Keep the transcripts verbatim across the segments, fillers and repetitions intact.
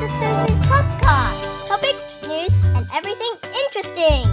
Susie's podcast. Topics, news, and everything interesting.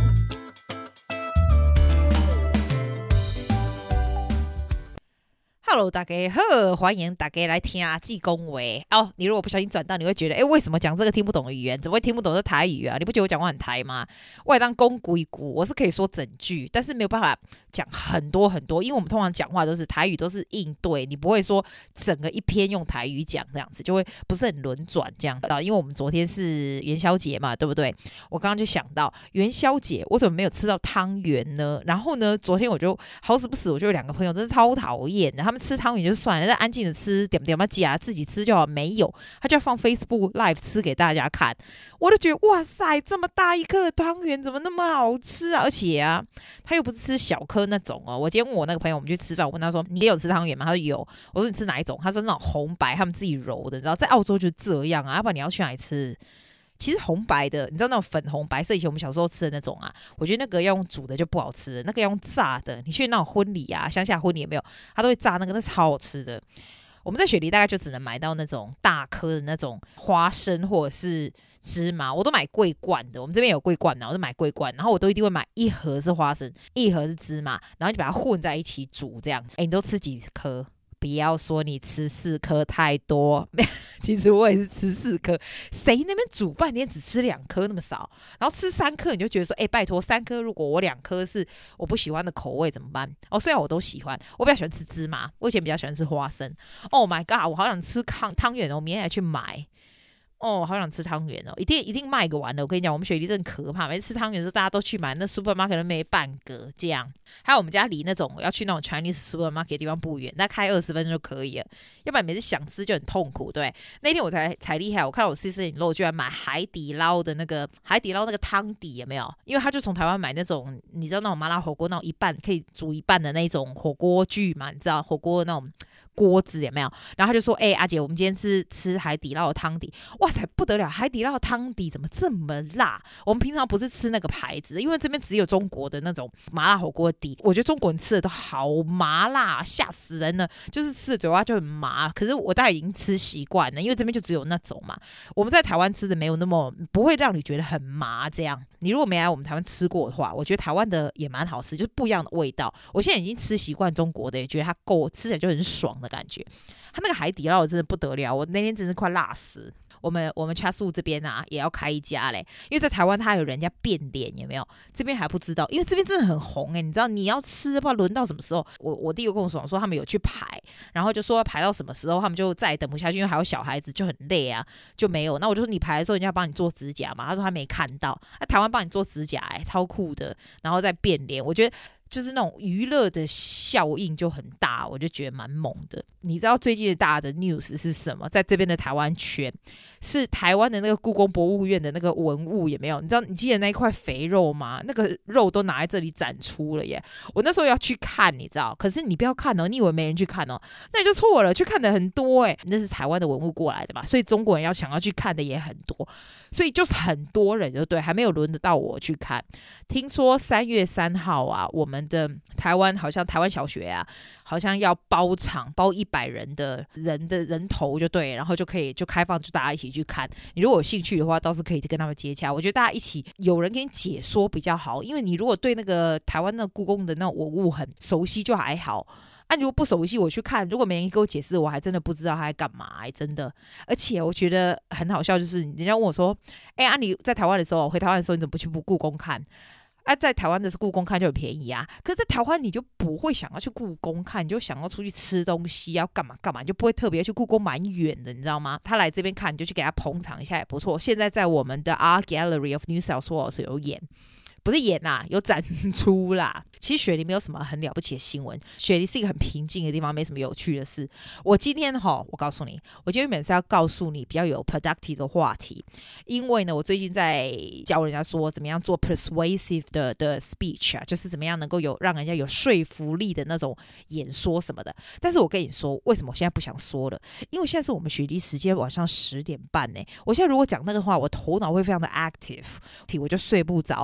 Hello， 大家好，歡迎大家來聽阿季恭維哦。你如果不小心轉到，你會覺得，哎，為什麼講這個聽不懂的語言？怎麼會聽不懂這台語啊？你不覺得我講話很台嗎？我也當公鬼鼓，我是可以說整句，但是沒有辦法講很多很多，因為我們通常講話都是台語，都是應對，你不會說整個一篇用台語講這樣子，就會不是很輪轉這樣子。因為我們昨天是元宵節嘛，對不對？我剛剛就想到元宵節，我怎麼沒有吃到湯圓呢？然後呢，昨天我就好死不死，我就有兩個朋友，真是超討厭的，他們吃湯圓就算了，但安靜的吃點點嘛夾，自己吃就好。沒有，他就要放 Facebook Live 吃給大家看。我就覺得哇塞，這麼大一顆湯圓怎麼那麼好吃啊？而且啊，他又不是吃小顆那種哦。我今天問我那個朋友，我們去吃飯，我問他說：“你也有吃湯圓嗎？”他說有。我說：“你吃哪一種？”他說：“那種紅白，他們自己揉的。”你知道，在澳洲就是這樣啊。要不然你要去哪裡吃？其實紅白的，你知道那種粉紅白色，以前我們小時候吃的那種啊，我覺得那個要用煮的就不好吃了，那個要用炸的。你去那種婚禮啊，鄉下婚禮有沒有？他都會炸那個，那超好吃的。我們在雪梨大概就只能買到那種大顆的那種花生或者是芝麻，我都買桂冠的。我們這邊有桂冠的，我就買桂冠，然後我都一定會買一盒是花生，一盒是芝麻，然後就把它混在一起煮這樣。哎，你都吃幾顆？不要說你吃四顆太多，其實我也是吃四顆。誰那邊煮半天只吃兩顆那麼少，然後吃三顆你就覺得說，哎，拜託三顆，如果我兩顆是我不喜歡的口味怎麼辦？哦，雖然我都喜歡，我比較喜歡吃芝麻，我以前比較喜歡吃花生。Oh my god，我好想吃湯湯圓哦，我明天還去買。哦，好想吃湯圓哦！一定一定賣個完了。我跟你講，我們雪梨真的可怕，每次吃湯圓的時候大家都去買，那 supermarket 都沒半個這樣。還有我們家離那種要去那種 Chinese supermarket 的地方不遠，大概開二十分鐘就可以了。要不然每次想吃就很痛苦，對。那天我才才厲害，我看到我 sister-in-law 居然買海底撈的那個海底撈那個湯底有沒有？因為他就從台灣買那種你知道那種麻辣火鍋那種一半可以煮一半的那種火鍋具嘛，你知道火鍋的那種鍋子有沒有？然後他就說：“哎、欸，阿姐，我們今天吃吃海底撈的湯底，哇塞，不得了！海底撈的湯底怎麼這麼辣？我們平常不是吃那個牌子，因為這邊只有中國的那種麻辣火鍋底。我覺得中國人吃的都好麻辣，嚇死人了！就是吃的嘴巴就很麻。可是我大概已經吃習慣了，因為這邊就只有那種嘛。我們在台灣吃的沒有那麼不會讓你覺得很麻。這樣，你如果沒來我們台灣吃過的話，我覺得台灣的也蠻好吃，就是不一樣的味道。我現在已經吃習慣中國的，也覺得它夠吃起來就很爽的感覺。他那個海底撈真的不得了，我那天真是快辣死。我們我們 Chatswood 這邊啊也要開一家嘞，因為在台灣他有人家變臉有沒有？這邊還不知道，因為這邊真的很紅哎、欸，你知道你要吃不知道輪到什麼時候。我我弟又跟我說說他們有去排，然後就說要排到什麼時候，他們就再也等不下去，因為還有小孩子就很累啊，就沒有。那我就說你排的時候人家幫你做指甲嘛，他說他沒看到，那台灣幫你做指甲哎、欸，超酷的，然後再變臉，我覺得。就是那種娛樂的效應就很大，我就覺得蠻猛的。你知道最近的大的 news 是什麼？在這邊的台灣圈是台灣的那個故宮博物院的那個文物有沒有？你知道你記得那一塊肥肉嗎？那個肉都拿在這裡展出了耶！我那時候要去看，你知道？可是你不要看哦，你以為沒人去看哦？那你就錯了，去看的很多哎，那是台灣的文物過來的嘛，所以中國人要想要去看的也很多，所以就是很多人就對，還沒有輪得到我去看。聽說三月三號啊，我們的台灣好像台灣小學啊，好像要包場，包一百人的人的人頭就對，然後就可以就開放，就大家一起去看。你如果有興趣的話，倒是可以跟他們接洽。我覺得大家一起有人給你解說比較好，因為你如果對那個台灣那個故宮的那種文物很熟悉就還好。啊，如果不熟悉我去看，如果沒人給我解釋，我還真的不知道他在幹嘛、欸，真的。而且我覺得很好笑，就是人家問我說：“哎、欸，啊你在台灣的時候，回台灣的時候，你怎麼不去故宮看？”啊，在台灣的是故宮看就很便宜啊，可是在台灣你就不會想要去故宮看，你就想要出去吃東西，要幹嘛幹嘛，你就不會特別去故宮，蠻遠的，你知道嗎？他來這邊看，你就去給他捧場一下也不錯。現在在我們的 Art Gallery of New South Wales 有演。不是演啦，有展出啦。其實雪梨沒有什麼很了不起的新聞，雪梨是一個很平靜的地方，沒什麼有趣的事。我今天齁，我告訴你，我今天本是要告訴你比較有 productive 的話題，因為呢，我最近在教人家說怎麼樣做 persuasive 的的 speech 啊，就是怎麼樣能夠有讓人家有說服力的那種演說什麼的。但是我跟你說，為什麼我現在不想說了？因為現在是我們雪梨時間晚上十點半呢。我現在如果講那個話，我頭腦會非常的 active，我就睡不着哦。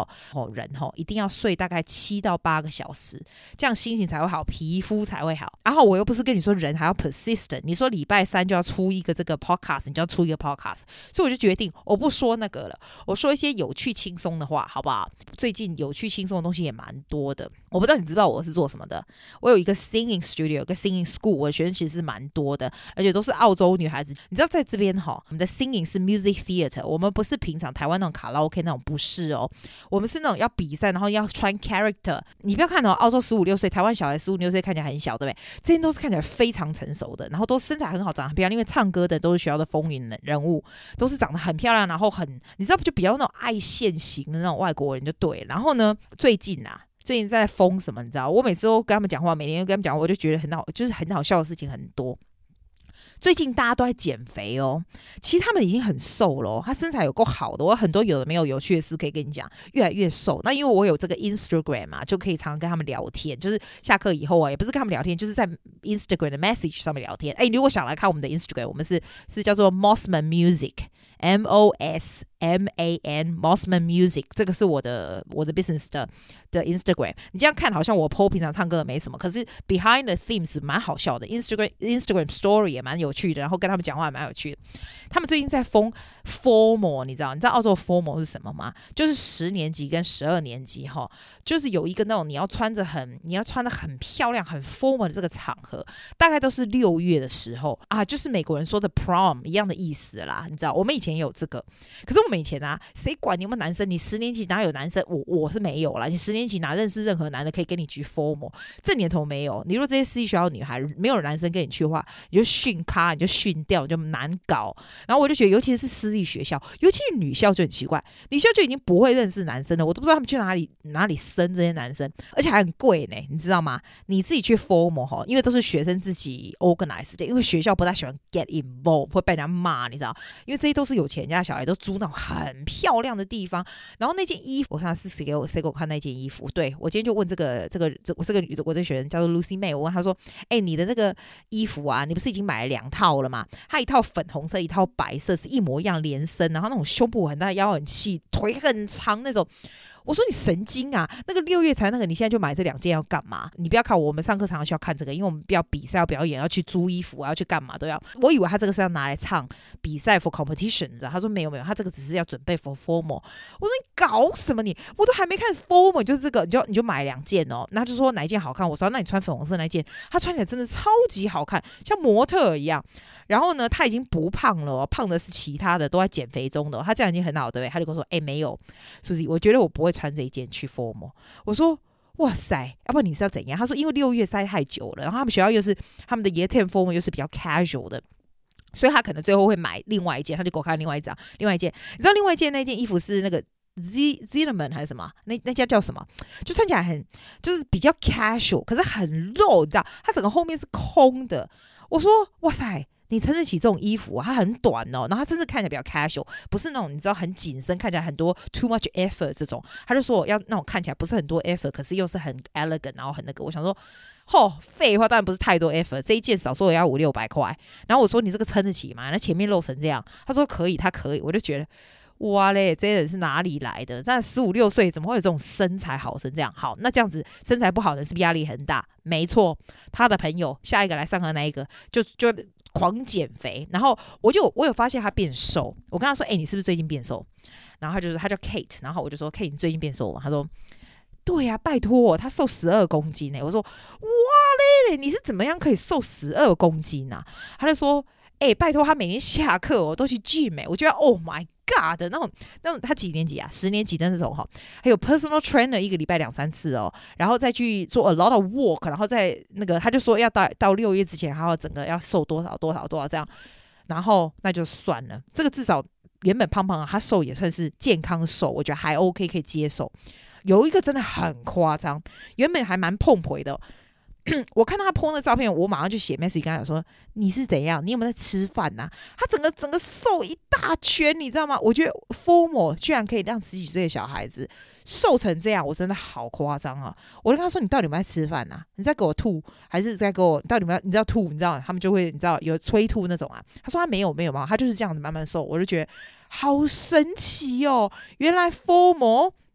人吼一定要睡大概七到八個小時，這樣心情才會好，皮膚才會好。然後我又不是跟你說人還要 persistent， 你說禮拜三就要出一個這個 podcast， 你就要出一個 podcast， 所以我就決定我不說那個了，我說一些有趣輕鬆的話，好不好？最近有趣輕鬆的東西也蠻多的，我不知道你知道我是做什麼的。我有一個 singing studio， 有個 singing school， 我的學生其實是蠻多的，而且都是澳洲女孩子。你知道在這邊哈，我們的 singing 是 music theater， 我們不是平常台灣那種卡拉 OK 那種，不是哦，我們是那種要比賽，然後要穿 character。你不要看哦，澳洲十五六歲，台灣小孩十五六歲看起來很小，對不對？這些都是看起來非常成熟的，然後都身材很好，長得很漂亮，因為唱歌的都是學校的風雲人物，都是長得很漂亮，然後很你知道就比較那種愛現型的那種外國人就對。然後呢，最近啊。最近在瘋什麼？你知道，我每次都跟他們講話，每天都跟他們講話，我就覺得很好，就是很好笑的事情很多。最近大家都在減肥哦，其實他們已經很瘦了哦，他身材有夠好的。我有很多有的沒有有趣的事可以跟你講，越來越瘦。那因為我有這個 Instagram 嘛，就可以常常跟他們聊天，就是下課以後啊，也不是跟他們聊天，就是在 Instagram 的 message 上面聊天。哎，如果想來看我們的 Instagram， 我們是是叫做 Mossman Music。M O S M A N Mossman Music， 這個是我的我的 business 的的 Instagram。你這樣看好像我 po 平常唱歌的沒什麼，可是 behind the themes 蠻好笑的。Instagram Instagram Story 也蠻有趣的，然後跟他們講話也蠻有趣的。他們最近在瘋 formal， 你知道？你知道澳洲 formal 是什麼嗎？就是十年級跟十二年級哈，就是有一個那種你要穿着很你要穿得很漂亮很 formal 的這個場合，大概都是六月的時候啊，就是美國人說的 prom 一樣的意思啦。你知道，我們以前也有這個，可是我們以前啊，誰管你有沒有男生？你十年級哪有男生？我我是沒有啦。你十年級哪認識任何男的可以跟你去 formal？ 這年頭沒有。你如果這些私立學校的女孩沒有男生跟你去的話，你就訓咖，你就訓掉，你就難搞。然後我就覺得，尤其是私立學校，尤其是女校就很奇怪，女校就已經不會認識男生了。我都不知道他們去哪裡哪裡生這些男生，而且還很貴呢，你知道嗎？你自己去 formal 哈，因為都是學生自己 organize 的，因為學校不太喜歡 get involved， 會被人家罵，你知道？因為這些都是有錢人家小孩都租那種很漂亮的地方，然後那件衣服，我看是誰給我誰給我看那件衣服？對，我今天就問這個這個這我這個女我這個學生叫做 Lucy May， 我問她說：“哎、欸，你的那個衣服啊，你不是已經買了兩套了嗎？她一套粉紅色，一套白色，是一模一樣連身，然後那種胸部很大，腰很細，腿很長那種。”我說你神經啊！那個六月才那個，你現在就買這兩件要幹嘛？你不要看我，我們上課常常需要看這個，因為我們要比賽、要表演、要去租衣服、要去幹嘛都要。我以為他這個是要拿來唱比賽 for competition 的，他說沒有沒有，他這個只是要準備 for formal。我說你搞什麼你？我都還沒看 formal，就是這個，你就你就買兩件哦。然後他就說哪一件好看？我說那你穿粉紅色那一件，他穿起來真的超級好看，像模特一樣。然後呢，他已經不胖了哦，胖的是其他的，都在減肥中的哦。他這樣已經很好，對不對？他就跟我說：“哎，沒有，Susie，我覺得我不會穿這一件去 formal。”我說：“哇塞，要不然你是要怎樣？”他說：“因為六月塞太久了，然後他們學校又是他們的 year ten formal 又是比較 casual 的，所以他可能最後會買另外一件。”他就給我看另外一張，另外一件，你知道另外一件那件衣服是那個 Z Zimmerman 還是什麼？那那家叫什麼？就穿起來很就是比較 casual， 可是很露，你知道？它整個後面是空的。我說：“哇塞！”你撐得起這種衣服啊？它很短哦，然後它甚至看起來比較 casual， 不是那種你知道很緊身，看起來很多 too much effort 這種。他就說我要那種看起來不是很多 effort， 可是又是很 elegant， 然後很那個。我想說，吼，廢話，當然不是太多 effort， 這一件少說也要五六百塊。然後我說你這個撐得起嗎？那前面露成這樣，他說可以，他可以。我就覺得哇嘞，這些人是哪裡來的？但十五六歲怎麼會有這種身材好成這樣？好，那這樣子身材不好的人是不是壓力很大？沒錯，他的朋友下一個來上課那一個就就。狂減肥，然後我就我有發現他變瘦。我跟他說：“哎、欸，你是不是最近變瘦？”然後他就說：“他叫 Kate。”然後我就說：“Kate，你最近變瘦嗎？”他說：“對呀、啊，拜託，他瘦十二公斤呢。”我說：“哇嘞，你是怎麼樣可以瘦十二公斤啊？”他就說：“哎、欸，拜託，他每天下課我都去 gym。”我覺得 ：“Oh my God 的那種那種，他幾年級啊？十年級的那種哈，還有 personal trainer 一個禮拜兩三次哦，然後再去做 a lot of work， 然後再那個他就說要到到六月之前，還要整個要瘦多少多少多少這樣，然後那就算了，這個至少原本胖胖的他瘦也算是健康瘦，我覺得還 OK 可以接受。有一個真的很誇張，原本還蠻碰腿的。我看到他 po 那照片，我馬上就寫 message 跟他講說：“你是怎樣？你有沒有在吃飯吶、啊？”他整個整個瘦一大圈，你知道嗎？我覺得 formal 居然可以讓十幾歲的小孩子瘦成這樣，我真的好誇張啊！我就跟他說：“你到底有沒有在吃飯吶、啊？你在給我吐，還是在給我？到底有沒有？你知道吐？你知道他們就會你知道有催吐那種啊？”他說：“他沒有沒有嘛，他就是這樣子慢慢瘦。”我就覺得好神奇哦！原來 formal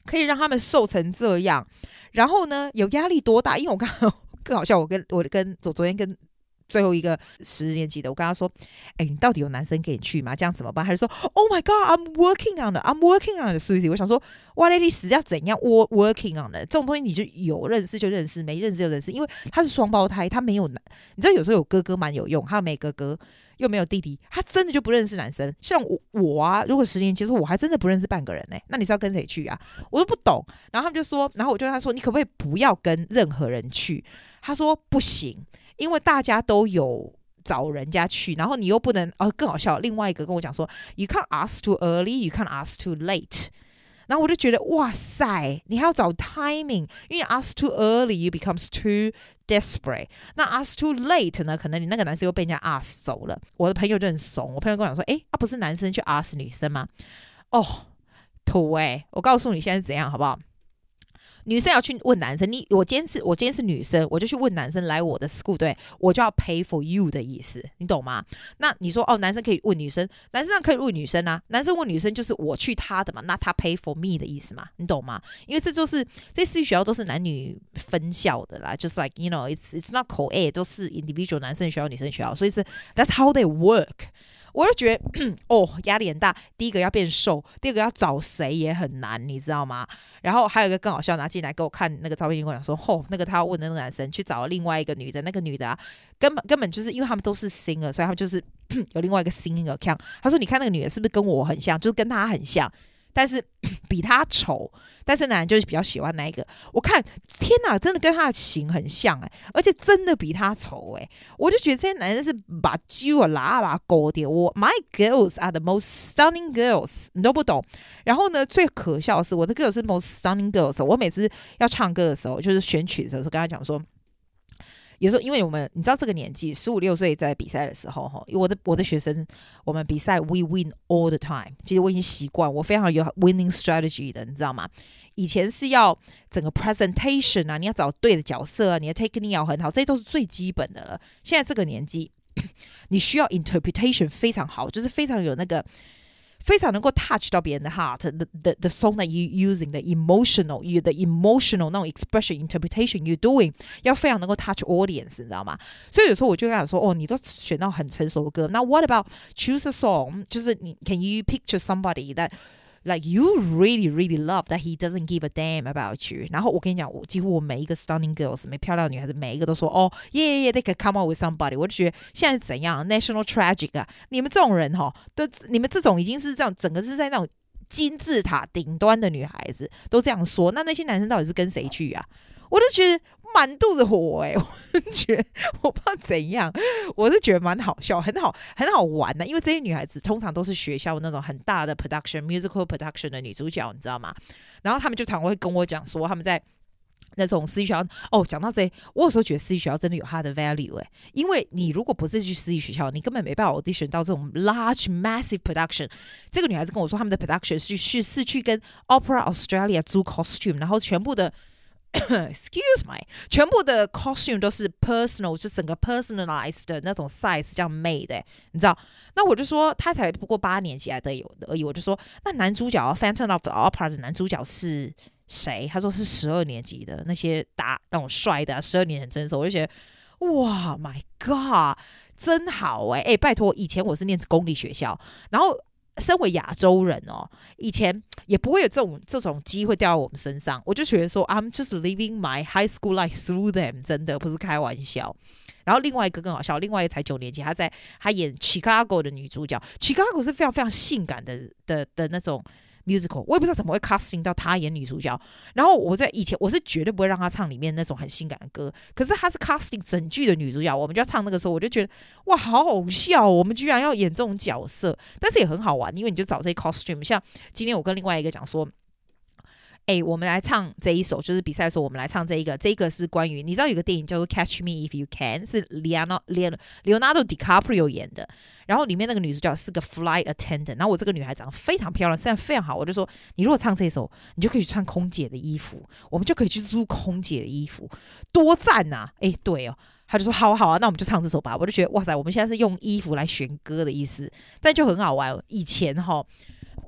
可以讓他們瘦成這樣？然後呢，有壓力多大？因為我剛剛更好笑，我跟我跟昨昨天跟最後一個十年級的，我跟他說：“哎，你到底有男生給你去嗎？這樣怎麼辦？”他就說 ：“Oh my God, I'm working on it. I'm working on it, Susie。”我想說，哇，那你死要怎樣 working on it？ 這種東西你就有認識就認識，沒認識就認識。因為他是雙胞胎，他沒有男，你知道有時候有哥哥蠻有用，他沒哥哥又沒有弟弟，他真的就不認識男生。像我我啊，如果十年級的時候，我還真的不認識半個人呢、欸。那你是要跟誰去啊？我都不懂。然後他們就說，然後我就跟他說：“你可不可以不要跟任何人去？”他說：“不行。”因為大家都有找人家去，然後你又不能哦，更好笑。另外一個跟我講說 ，You can't ask too early, you can't ask too late。然後我就覺得哇塞，你還要找 timing， 因為 ask too early, you becomes too desperate。那 ask too late 呢？可能你那個男生又被人家 ask 走了。我的朋友就很慫，我朋友跟我講說，哎，啊不是男生去 ask 女生嗎？哦，土哎，我告訴你現在是怎樣，好不好？女生要去問男生，你我今天是我今天是女生，我就去問男生來我的 school， 對，我就要 pay for you 的意思，你懂嗎？那你說哦，男生可以問女生，男生可以問女生啊，男生問女生就是我去他的嘛，那他 pay for me 的意思嘛，你懂嗎？因為這就是這私立學校都是男女分校的啦，就是 like you know it's it's not co-ed， 都是 individual 男生學校女生學校，所以是 that's how they work。我就覺得哦，壓力很大。第一個要變瘦，第二個要找誰也很難，你知道嗎？然後還有一個更好笑，拿進來給我看那個照片，跟我講說，哦，那個他要問的那個男生去找另外一個女的，那個女的啊，根本根本就是因為他們都是 singer， 所以他們就是有另外一個 singing account。他說，你看那個女的是不是跟我很像？就是跟他很像。但是比他醜，但是男人就是比較喜歡那一個。我看天哪，真的跟他的型很像哎、欸，而且真的比他醜哎、欸，我就覺得這些男人是把揪啊拉把勾掉。我 My girls are the most stunning girls， 你都不懂。然後呢，最可笑的是我的 girls 是 most stunning girls。我每次要唱歌的時候，就是選曲的時候，跟他講說。有時候，因為我們你知道這個年紀，十五六歲在比賽的時候，哈，我的我的學生，我們比賽 we win all the time。其實我已經習慣，我非常有 winning strategy 的，你知道嗎？以前是要整個 presentation 啊，你要找對的角色啊，你的 technique 要很好，這些都是最基本的了。現在這個年紀，你需要 interpretation 非常好，就是非常有那個。非常能夠 touch 到別人的 heart，the the the song that you using，the emotional you the emotional 那種 expression interpretation you doing， 要非常能夠 touch audience， 你知道嗎？所以有時候我就跟他說，哦，你都選到很成熟的歌，那 what about choose a song？ 就是你 can you picture somebody that like you really really love that he doesn't give a damn about you？ 然後我跟你講，我幾乎我每一個 stunning girls， 每漂亮的女孩子，每一個都說，哦 yeah yeah yeah they can come out with somebody。我就覺得現在怎樣 national tragic 啊？你們這種人哈，都你們這種已經是這樣，整個是在那種金字塔頂端的女孩子都這樣說，那那些男生到底是跟誰去啊？我就覺得滿肚子火哎、欸，我就覺得我不知道怎樣，我是覺得蠻好笑，很好很好玩的、啊，因為這些女孩子通常都是學校那種很大的 production musical production 的女主角，你知道嗎？然後他們就常會跟我講說他們在那種私立學校哦，講到這，我有時候覺得私立學校真的有它的 value 哎、欸，因為你如果不是去私立學校，你根本沒辦法 audition 到這種 large massive production。這個女孩子跟我說，他們的 production 是是是去跟 Opera Australia 租 costume， 然後全部的。Excuse me， 全部的 costume 都是 personal， 是整個 personalized 的那種 size 這樣 made 的、欸，你知道？那我就說他才不過八年級來的而已，我就說那男主角 Phantom of the Opera 的男主角是誰？他說是十二年級的那些打那種帥的、啊，十二年很成熟，我就覺得哇 ，My God， 真好哎、欸、哎、欸，拜託，以前我是念公立學校，然後。身為亞洲人哦，以前也不會有這種這種機會掉到我們身上，我就覺得說 I'm just living my high school life through them， 真的不是開玩笑。然後另外一個更好笑，另外一個才九年級，他在他演 Chicago 的女主角 ，Chicago 是非常非常性感的的的那種 musical， 我也不知道怎麼會 casting 到他演女主角。然後我在以前我是絕對不會讓他唱裡面那種很性感的歌，可是他是 casting 整劇的女主角，我們就要唱那個時候，我就覺得哇，好好笑，我們居然要演這種角色，但是也很好玩，因為你就找這些 costume。像今天我跟另外一個講說。哎，我們來唱這一首，就是比賽的時候，我們來唱這一個。這一個是關於，你知道有個電影叫做《Catch Me If You Can》，是 Leonardo Leonardo DiCaprio 演的。然後裡面那個女主角是個 flight attendant。然後我這個女孩長得非常漂亮，身材非常好。我就說，你如果唱這一首，你就可以去穿空姐的衣服，我們就可以去租空姐的衣服，多讚啊！哎，對哦，他就說好好啊，那我們就唱這首吧。我就覺得哇塞，我們現在是用衣服來選歌的意思，但就很好玩。以前哈。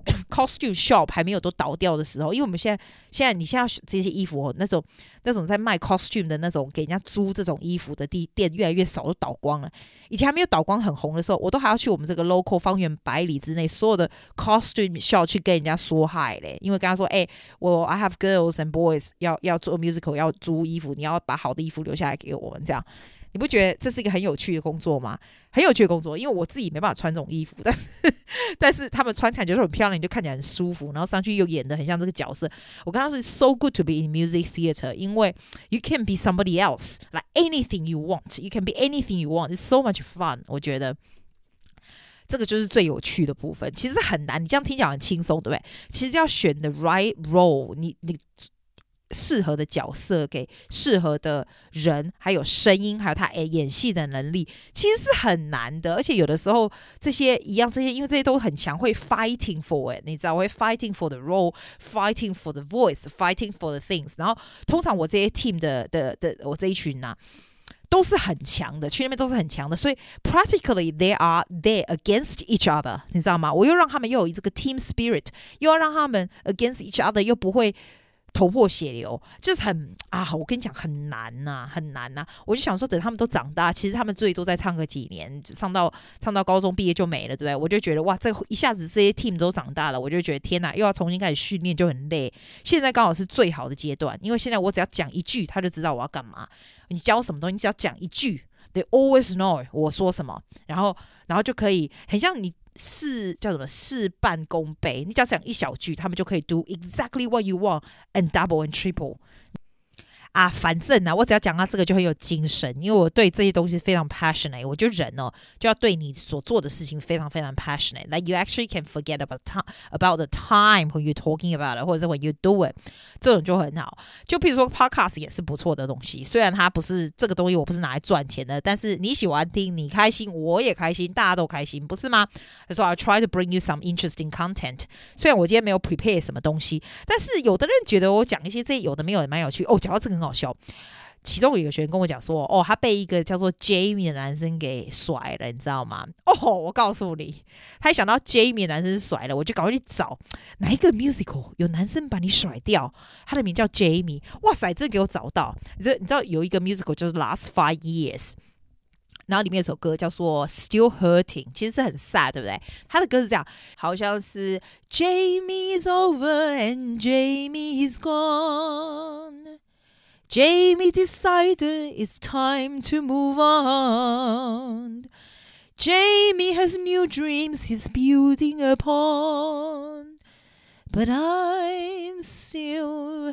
costume shop 還沒有都倒掉的時候，因為我們現在現在你現在這些衣服、哦、那種那種在賣 costume 的那種給人家租這種衣服的地店越來越少，都倒光了。以前還沒有倒光很紅的時候，我都還要去我們這個 local 方圓百里之內所有的 costume shop 去跟人家說 hi 嘞，因為跟他說，哎、欸，我 I have girls and boys 要要做 musical 要租衣服，你要把好的衣服留下來給我們這樣。你不覺得這是一個很有趣的工作嗎？很有趣的工作，因為我自己沒辦法穿這種衣服，但是但是他們穿起來就是很漂亮，你就看起來很舒服，然後上去又演得很像這個角色。我剛剛是 so good to be in music theater， 因為 you can be somebody else, like anything you want, you can be anything you want. It's so much fun. 我覺得這個就是最有趣的部分。其實很難，你這樣聽起來很輕鬆，對不對？其實要選 the right role， 你你。適合的角色給適合的人，還有聲音，還有他演戲的能力，其實是很難的。而且有的時候這些一樣，這些因為這些都很強，會 fighting for it， 你知道，會 fighting for the role，fighting for the voice，fighting for the things。然後通常我這些 team 的的的我這一群啊，都是很強的，去那邊都是很強的，所以 practically they are there against each other， 你知道嗎？我又讓他們又有這個 team spirit， 又要讓他們 against each other， 又不會頭破血流，就是很啊，我跟你講很難吶、啊，很難吶、啊。我就想說，等他們都長大，其實他們最多再唱個幾年，上到唱到高中畢業就沒了，對不對？我就覺得哇，這一下子這些 team 都長大了，我就覺得天哪，又要重新開始訓練，就很累。現在剛好是最好的階段，因為現在我只要講一句，他就知道我要幹嘛。你教什麼東西，你只要講一句 ，they always know 我說什麼，然後然後就可以很像你。事叫什麼？事半功倍。你只要講一小句，他們就可以 do exactly what you want and double and triple。啊，反正啊，我只要講到這個就很有精神，因為我對這些東西非常 passionate。我覺得人哦，就要對你所做的事情非常非常 passionate。Like you actually can forget about time, about the time when you're talking about it， 或者是 when you do it， 這種就很好。就譬如說 podcast 也是不錯的東西，雖然它不是這個東西，我不是拿來賺錢的，但是你喜歡聽，你開心，我也開心，大家都開心，不是嗎？所以 I try to bring you some interesting content。雖然我今天沒有 prepare 什麼東西，但是有的人覺得我講一些這有的沒有也蠻有趣哦。講到這個很好笑，其中有一個學員跟我講說，哦，他被一個叫做 Jamie 的男生給甩了，你知道嗎？哦，我告訴你，他一想到 Jamie 的男生是甩了，我就趕快去找哪一個 musical 有男生把你甩掉，他的名叫 Jamie。哇塞，這個給我找到。你知道，你知道有一個 musical 就是 Last Five Years， 然後裡面有首歌叫做 Still Hurting， 其實是很 sad， 對不對？他的歌是這樣，好像是 Jamie's over and Jamie's gone。Jamie decided it's time to move on. Jamie has new dreams he's building upon. But I'm still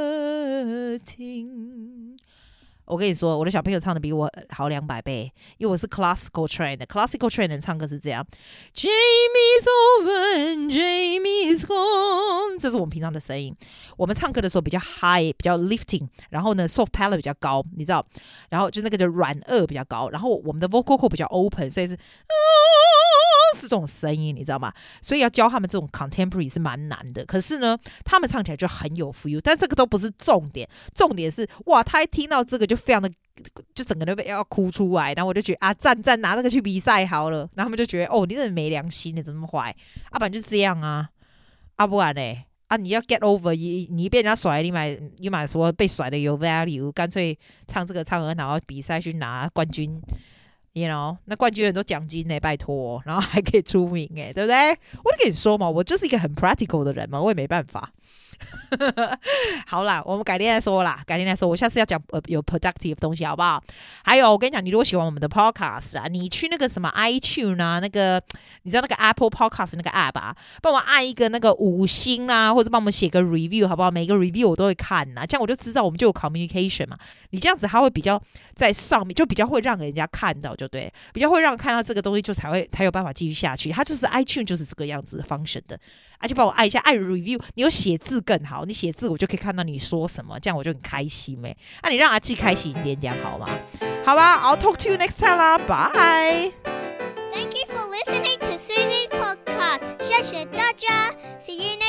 hurting. 我跟你說，我的小朋友唱的比我好兩百倍，因為我是 classical trained 的 classical trained 人唱歌是這樣 Jamie's over and Jamie's gone， 這是我們平常的聲音。我們唱歌的時候比較 high， 比較 lifting， 然後呢 soft palate 比較高，你知道，然後就那個就軟腭比較高，然後我們的 vocal cord 比較 open， 所以是是這種聲音，你知道嗎？所以要教他們這種 contemporary 是蠻難的。可是呢，他們唱起來就很有 feel， 但這個都不是重點，重點是哇，他一聽到這個就非常的，就整個都被要哭出來。然後我就覺得啊，讚讚，拿這個去比賽好了。然後他們就覺得哦，你真的沒良心，你怎麼那麼壞？啊，不然就是這樣啊，啊不然呢？啊，你要 get over， 你你被人家甩，你買你買說被甩的有 value， 乾脆唱這個唱很好，然後比賽去拿冠軍。You know， 那冠軍很多獎金呢，拜託，然後還可以出名哎，對不對？我就跟你說嘛，我就是一個很 practical 的人嘛，我也沒辦法。好啦，我們改天再說啦，改天再說。我下次要講呃有 productive 的東西，好不好？還有，我跟你講，你如果喜歡我們的 podcast 啊，你去那個什麼 iTunes 啊，那個你知道那個 Apple Podcast 那個 app 啊，幫我按一個那個五星啦、啊，或者幫我們寫個 review， 好不好？每個 review 我都會看吶、啊，這樣我就知道我們就有 communication 嘛。你這樣子，它會比較在上面，就比較會讓人家看到，就對，比較會讓看到這個東西，就才會才有辦法繼續下去。它就是 iTunes 就是這個樣子的 function 的。啊，就幫我按一下，按 review， 你有寫字更好，你寫字我就可以看到你說什麼，這樣我就很開心唄。啊，你讓阿紀開心一點點好嗎？好吧 ，I'll talk to you next time 啦，bye。 Thank you for listening to Susie's podcast. 謝謝大家，See you next time.